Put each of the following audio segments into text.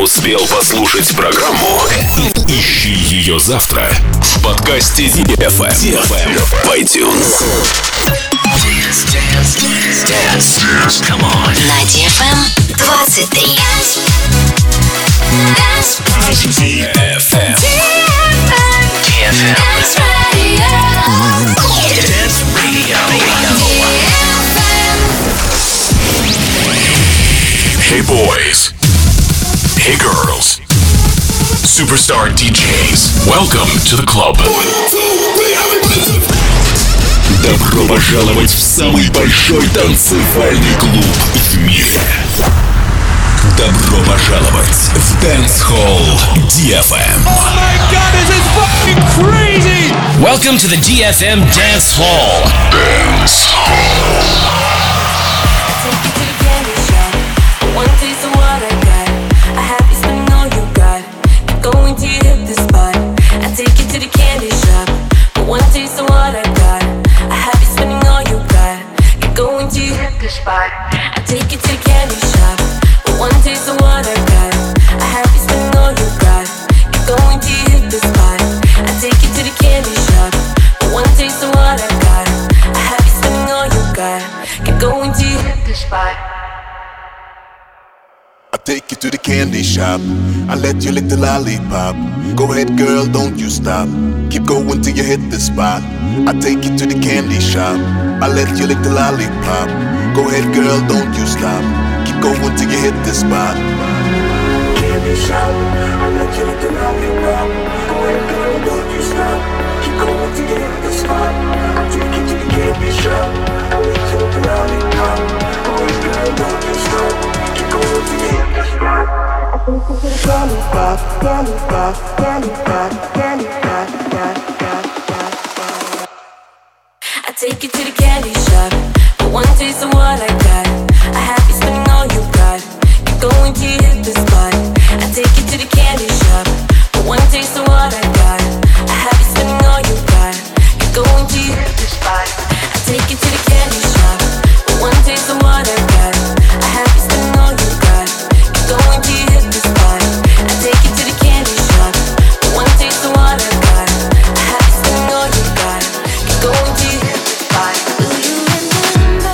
успел послушать программу, ищи ее завтра в подкасте DFM в iTunes. Dance. Come on. На DFM 23. DFM. Dance Radio. Dance Radio. Hey boys. Hey girls. Superstar DJs. Welcome to the club. Добро пожаловать в самый большой танцевальный клуб в мире. Добро пожаловать в Dance Hall DFM. Oh my god, this is fucking crazy! Welcome to the DFM Dance Hall. Dance Hall. Take you to the candy shop. I let you lick the lollipop. Go ahead, girl, don't you stop. Keep going till you hit the spot. I take you to the candy shop. I let you lick the lollipop. Go ahead, girl, don't you stop. Keep going till you hit the spot. Candy shop. I let you lick the lollipop. Go ahead, girl, don't you stop. Keep going till you hit the spot. I take you to the candy shop. I let you lick the lollipop. Go ahead, girl, don't you stop. Keep going till you hit the spot. Candy spot, candy spot, candy spot, candy spot, I take you to the candy shop. For one taste of what I got. I have you spending all you got. You're going to hit the spot. I take you to the candy shop. For one taste of what I got. I have you spending all you got. You're going to hit the spot. I take you to the candy shop. For one taste of what I got. I have you spending all you got. You're going to hit the spot. I take you to the candy shop. For one taste of what I got. I have you spending all you got. You're going to hit the spot. Do you remember?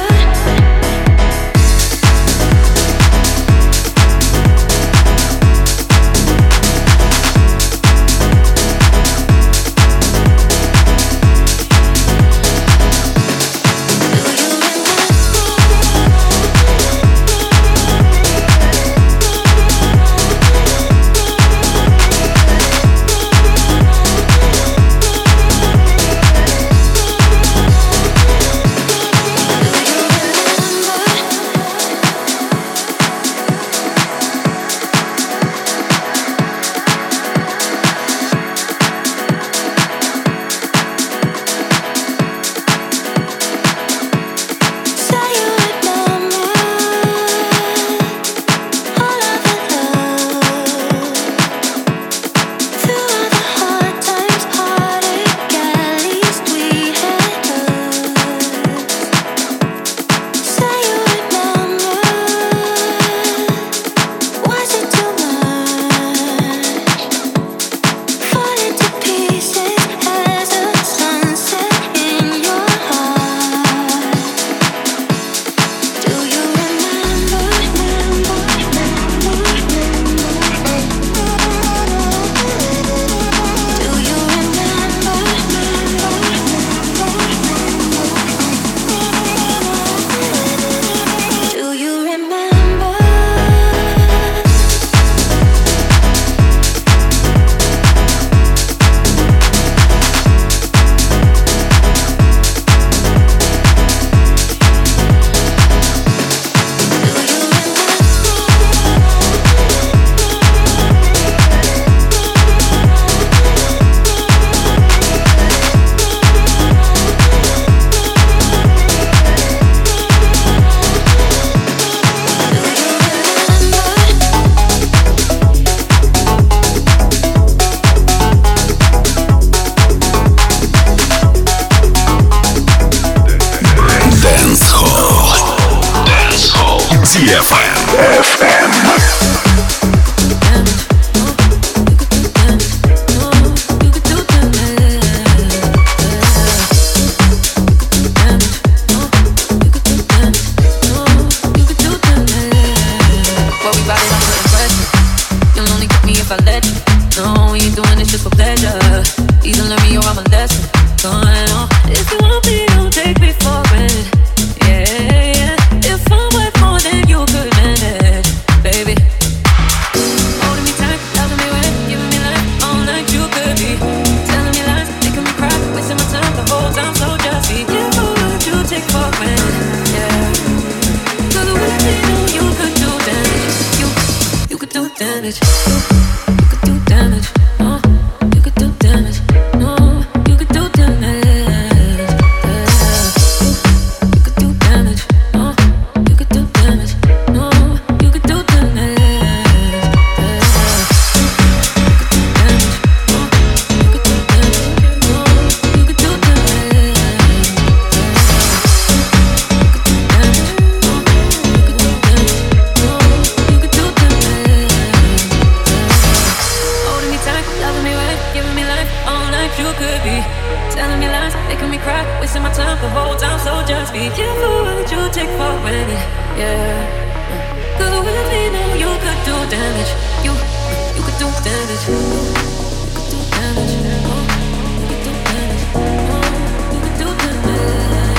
DFM. damage. You could do damage. You could do damage. No, you could do damage. You could do damage. You could do damage. No, you could do damage. Wasting my time the whole time, so just be careful what you take for granted. Yeah, 'cause with me now you could do damage. You could do damage. You could do damage. You could do damage. You could do damage.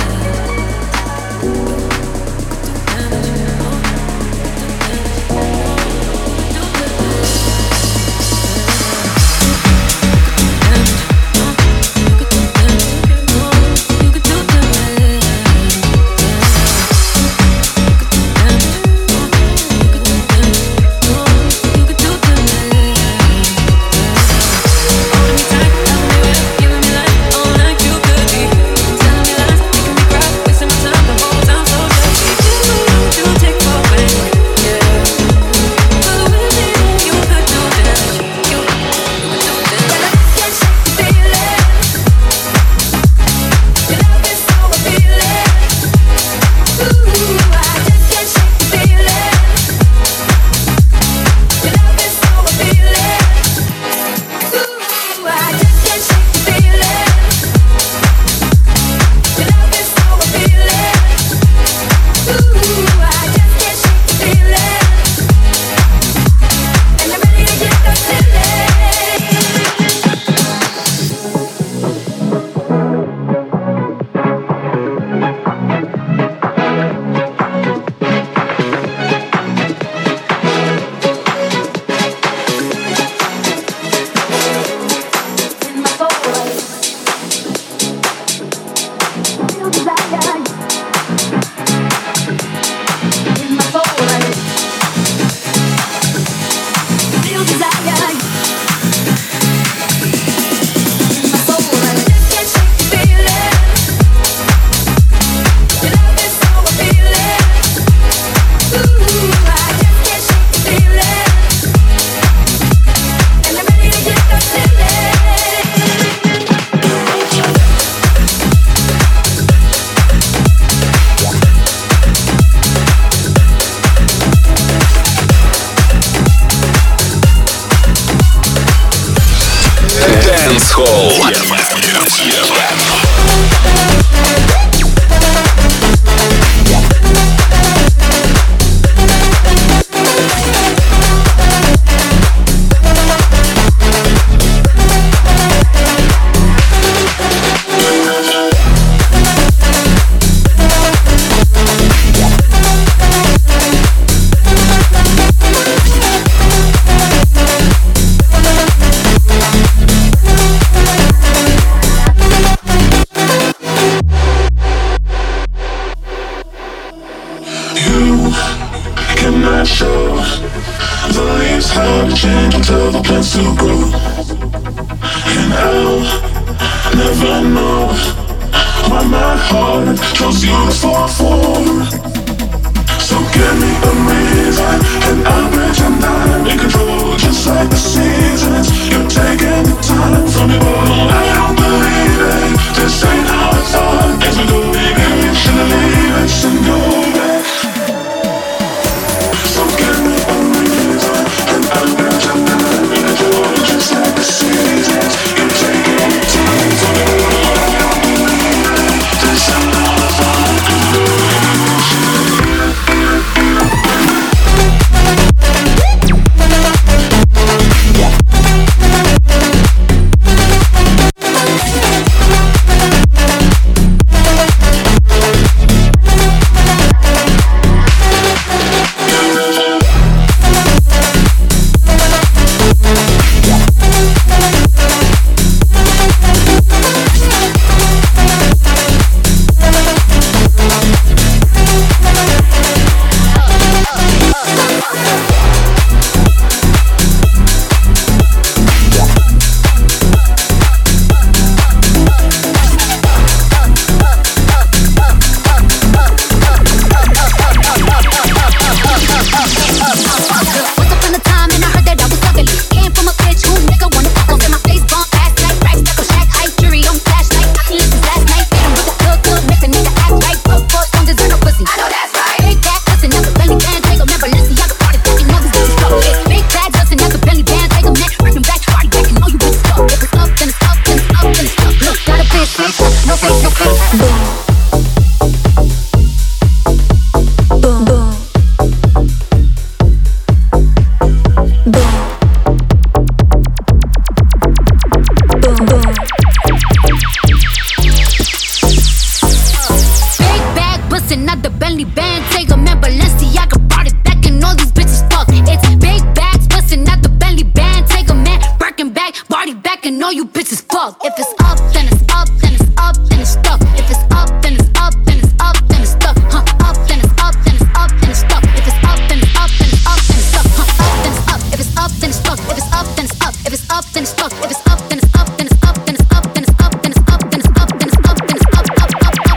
Bottega, man, Balenciaga brought it back and all these bitches fuck. It's big bags, busting out the Bentley band. Take a man, Birkin bag, body back and all you bitches fuck. If it's up, then it's up, then it's up, then it's stuck. If it's up, then it's up, then it's up, then it's stuck. Up, then it's up, then it's up, then it's stuck. If it's up, then it's up, then it's up, then it's stuck. Up, then it's up. If it's up, then it's stuck. If it's up, then it's up. If it's up, then it's stuck. If it's up, then it's up, then it's up, then it's up, then it's up, then it's up, then it's up, then it's up, then it's up, up.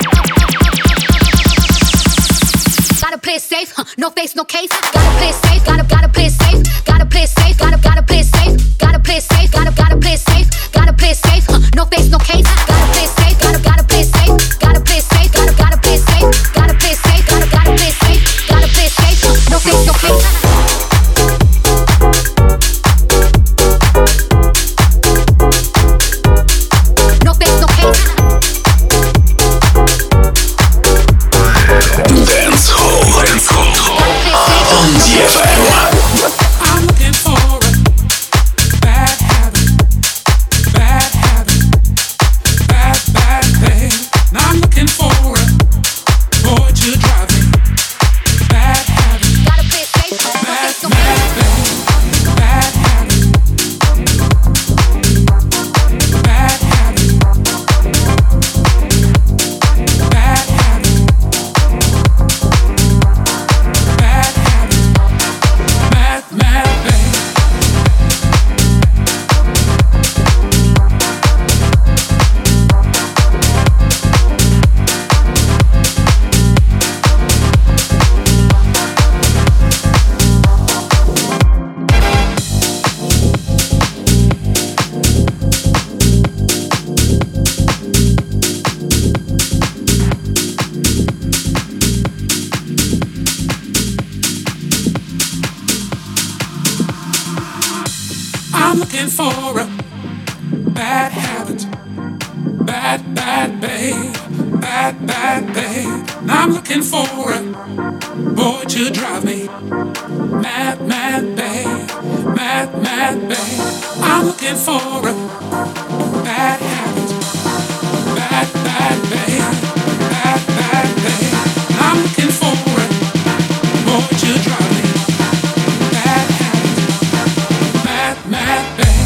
Gotta play it safe, no face, no case. Gotta play it safe, gotta play it safe. Gotta play it safe, gotta play it safe. Gotta play it safe, gotta play it safe. Gotta play it safe, no face, no case. Gotta play it safe, gotta play it safe. Gotta play it safe, gotta play it safe. Gotta play it safe, gotta play it safe. Gotta play it safe, no face, no case. I'm looking for a bad habit, bad thing. I'm looking for a boy to drive me. Bad habit, bad thing. Bad habit, bad habit, bad habit, bad habit, mad thing. I'm looking for a bad habit, bad babe, bad babe. I'm looking for a boy to drive me mad babe, mad babe. I'm looking for a bad habit, bad babe, bad babe. I'm looking for a boy to drive me mad habit, mad babe.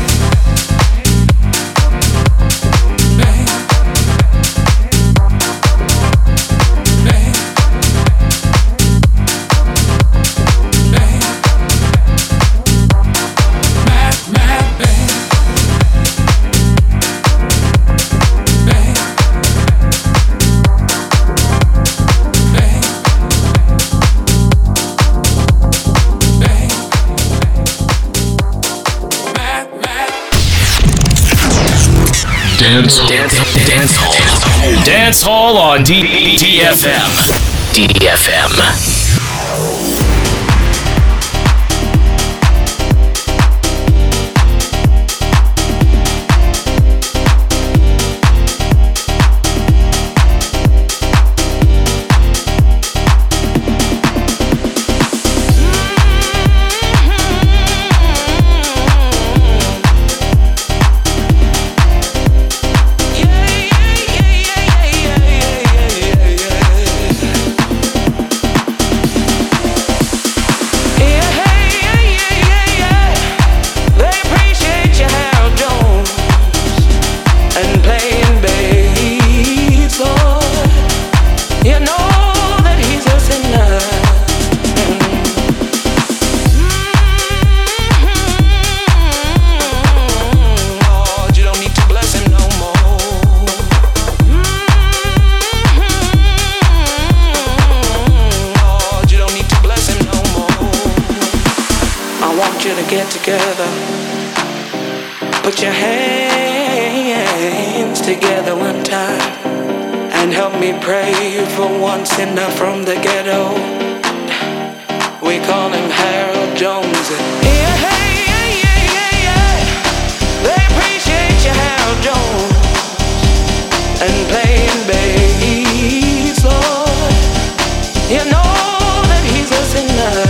Dance Hall on DFM. Put your hands together one time and help me pray for one sinner from the ghetto. We call him Harold Jones. Yeah, hey, yeah. They appreciate you, Harold Jones, and playing bass, Lord. You know that he's a sinner.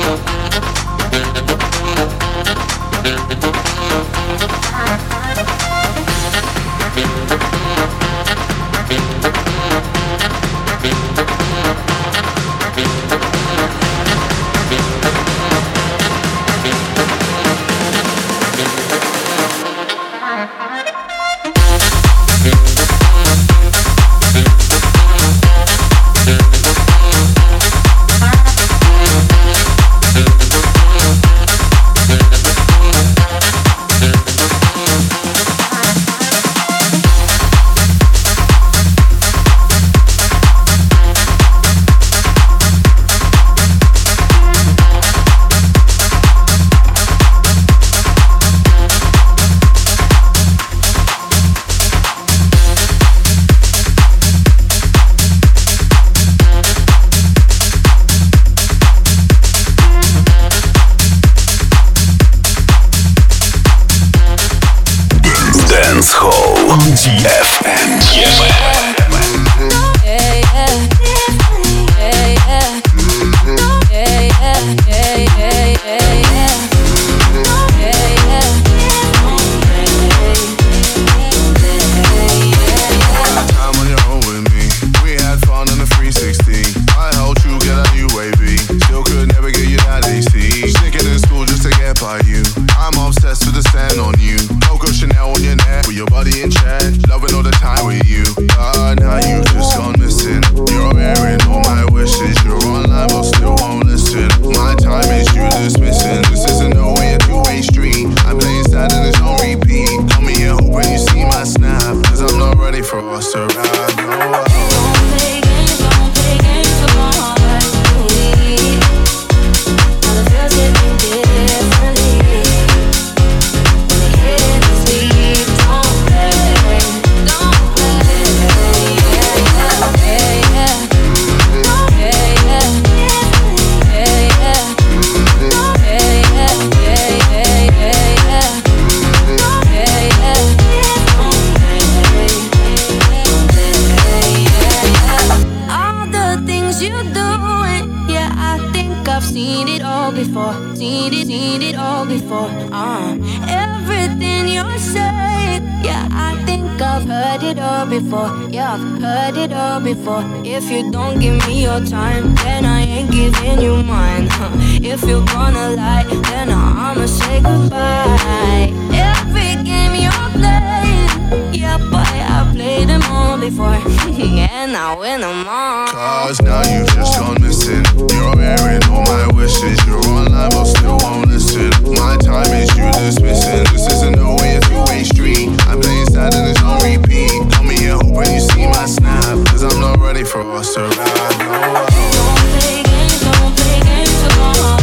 If you don't give me your time, then I ain't giving you mine. If you're gonna lie, then I'ma say goodbye. Every game you're playing, yeah, boy, I played them all before. And I win them all. Cause now you just gone missing. You're airing all my wishes. You're online but still won't listen. My time is you dismissing. This isn't no way a two-way street. I'm playing sad and it's on repeat. Call me here hoping you see my snap. Cause I'm not ready for us to ride. No. Don't play games, don't play games, come on,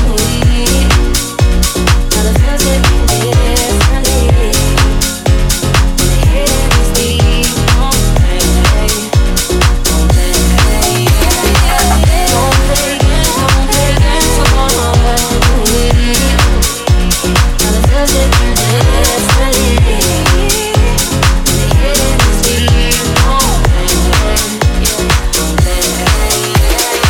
please. Now the feels hit me differently. When the hit is deep, don't play. Don't play games, come on, please. Now the feels hit me differently. When the hit is deep, don't play.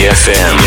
DFM.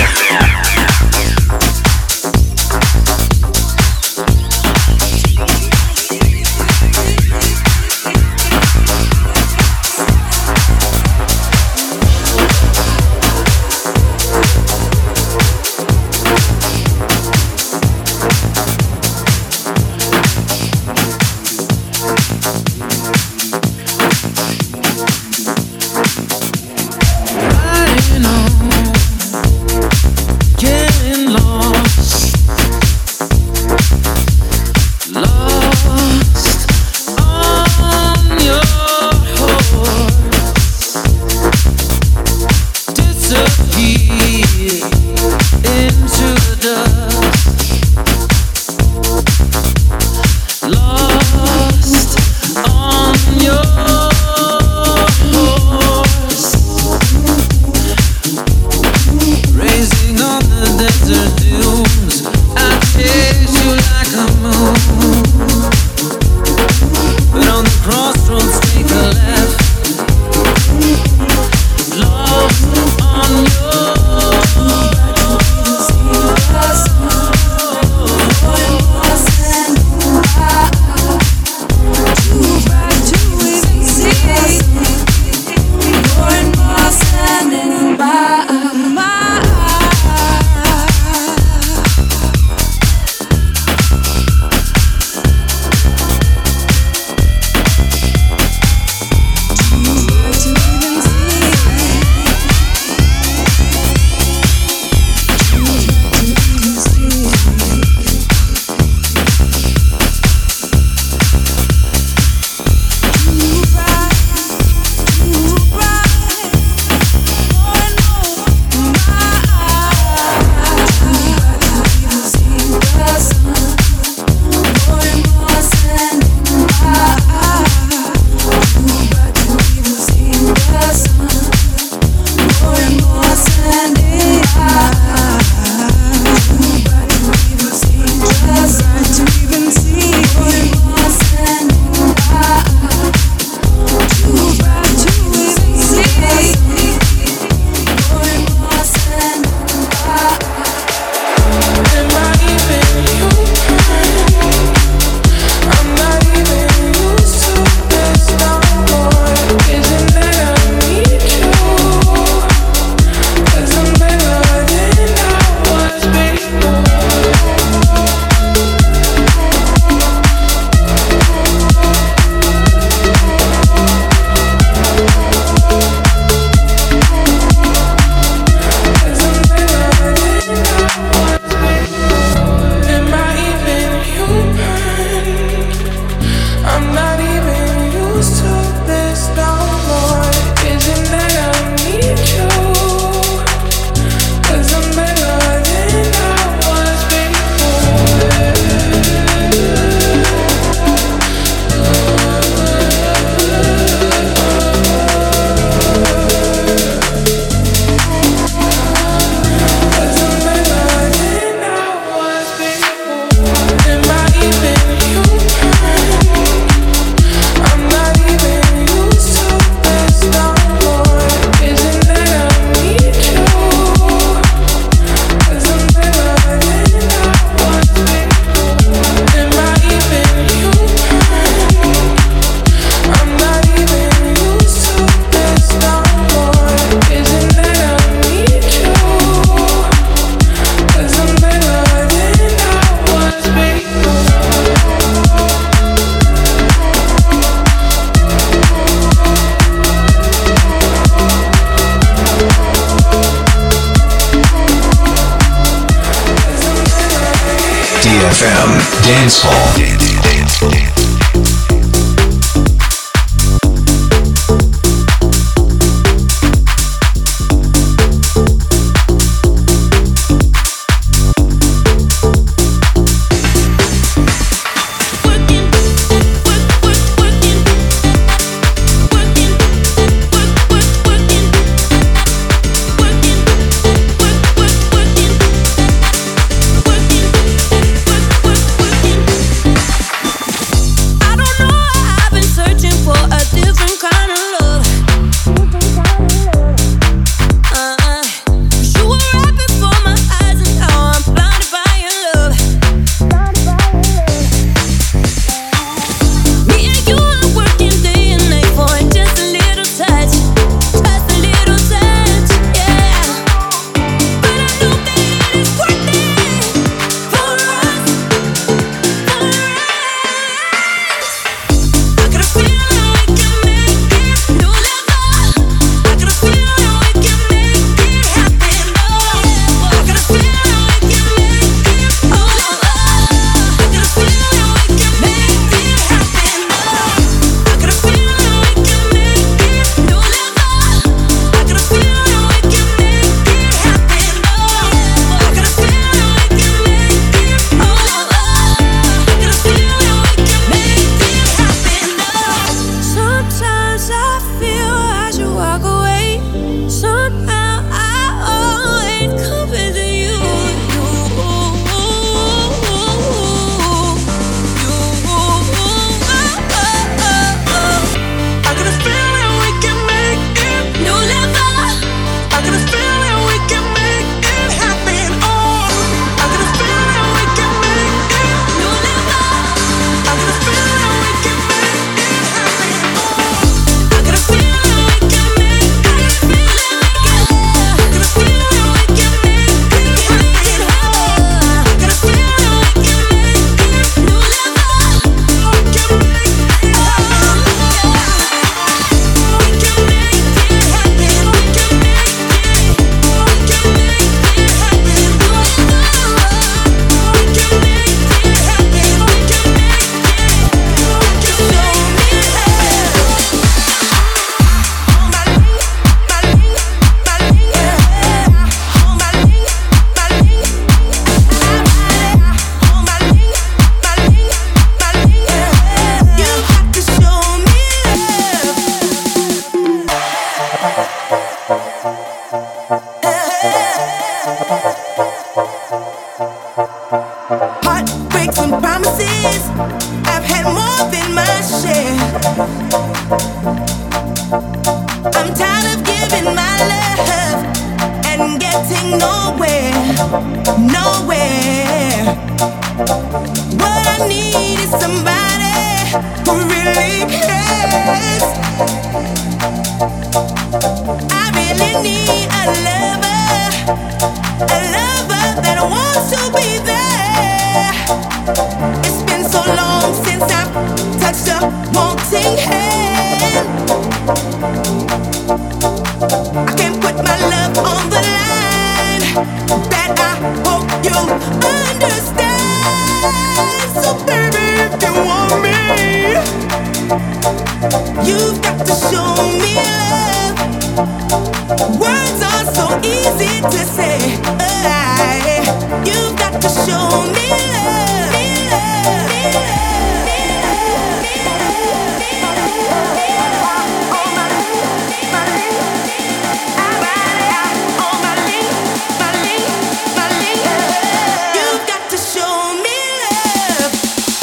DFM Dance Hall. having my share. I'm tired of giving my love and getting nowhere, nowhere. What I need is somebody who really cares. I really need a lover that wants to be there. It's been so long since I've touched a wanting hand. I can't put my love on the line. That I hope you'll understand. So baby, if you want me, you've got to show me love. Words are so easy to say. You've got to show me love. You've got to show me love.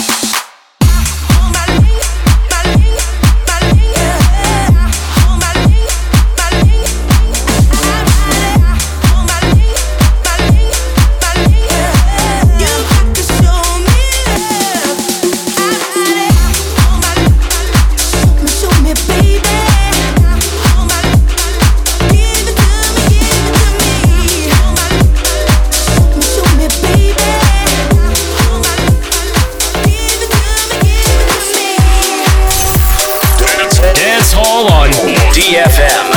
DFM.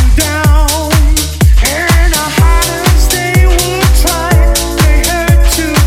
To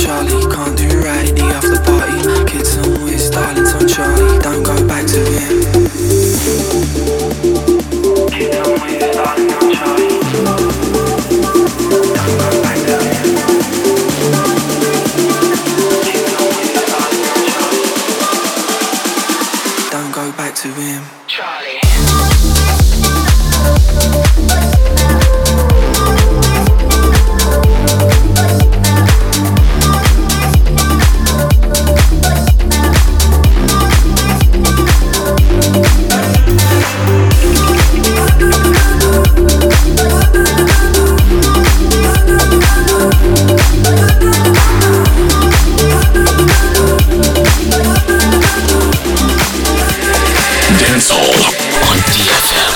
Charlie, can't do right, the after party. Kids on whiz, darlings on Charlie, don't go back to him. Kids on whiz, darlings on Charlie, don't go back to him. Kids on whiz, darlings on Charlie, don't go back to him. Charlie. Dancehall on DFM.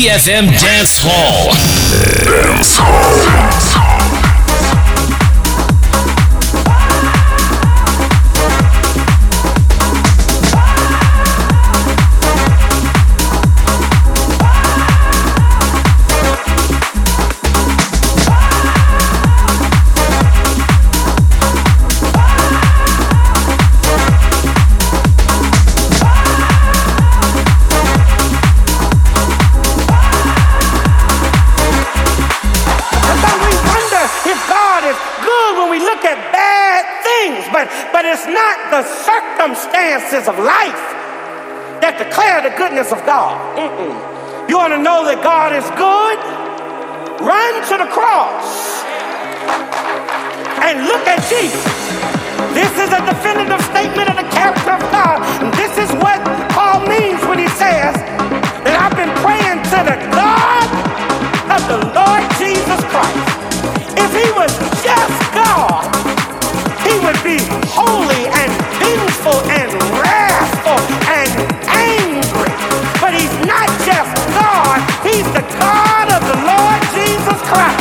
DFM Dance Hall. Dance Hall. But it's not the circumstances of life that declare the goodness of God. You want to know that God is good? Run to the cross and look at Jesus. This is a definitive statement of the character of God. And this is what Paul means when he says that I've been praying to the God of the Lord Jesus Christ. If he was just God, he would be holy and vengeful and wrathful and angry. But he's not just God, he's the God of the Lord Jesus Christ.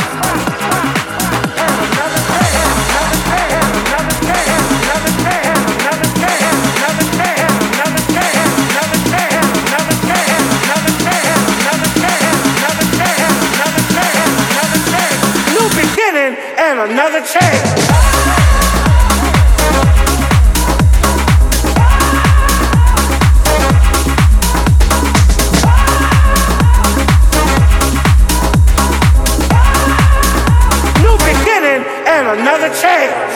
New beginning and another chance. Another chance.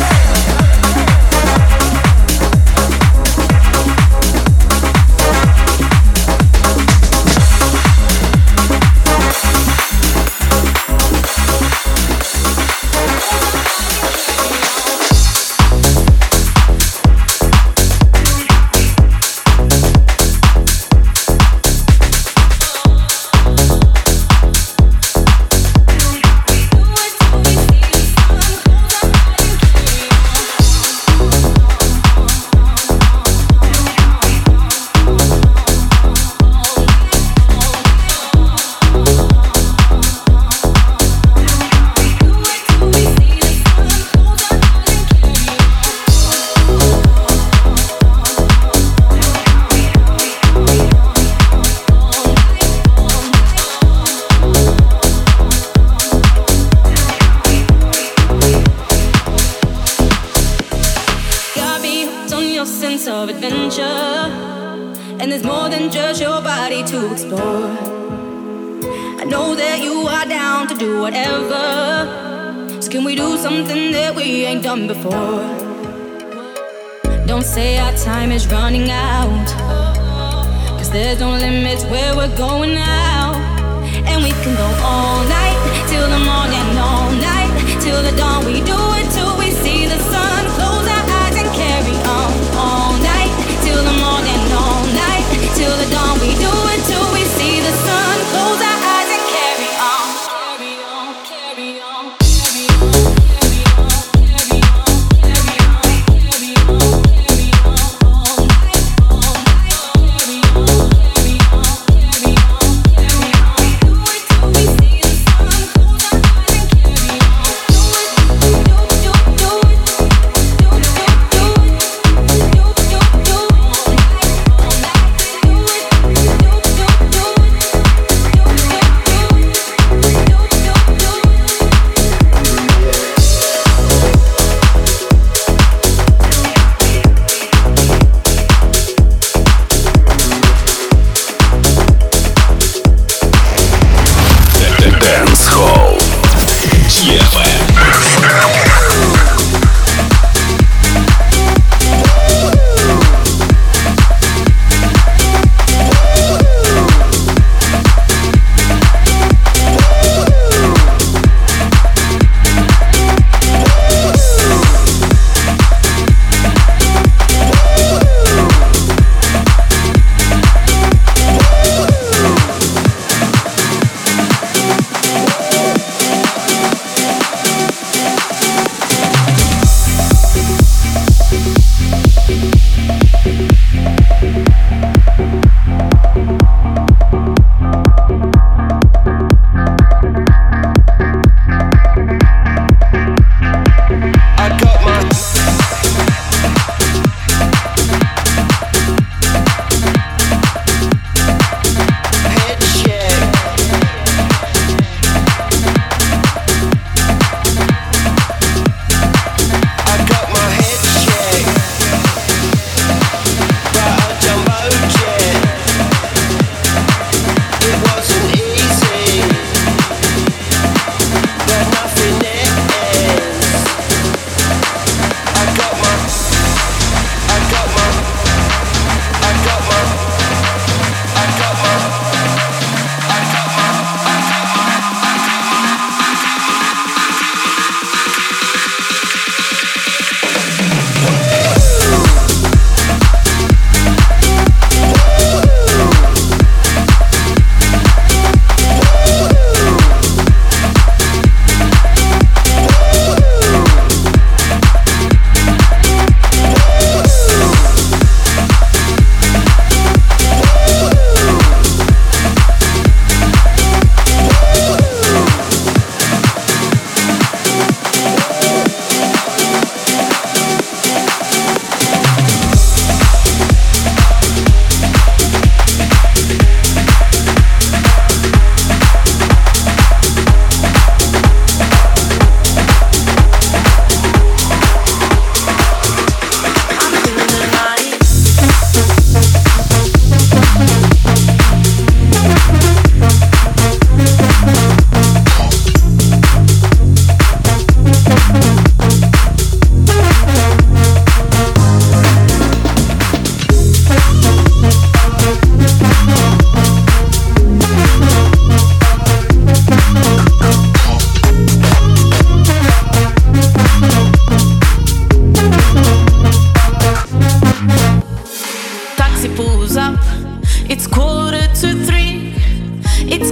Before. Don't say our time is running out, 'cause there's no limits where we're going now. And we can go all night, till the morning, all night, till the dawn. We do it till we see the sun. Close our eyes and carry on. All night, till the morning, all night, till the dawn. We do it till we see the sun. Close our eyes and carry on. Carry on, carry on, carry on.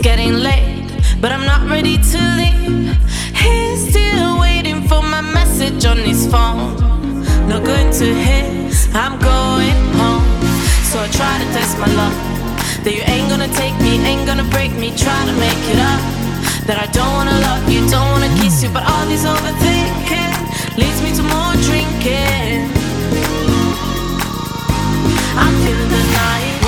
getting late, but I'm not ready to leave. He's still waiting for my message on his phone. Not going to his, I'm going home. So I try to test my luck, that you ain't gonna take me, ain't gonna break me. Try to make it up, that I don't wanna love you, don't wanna kiss you. But all this overthinking leads me to more drinking. I'm feeling the night.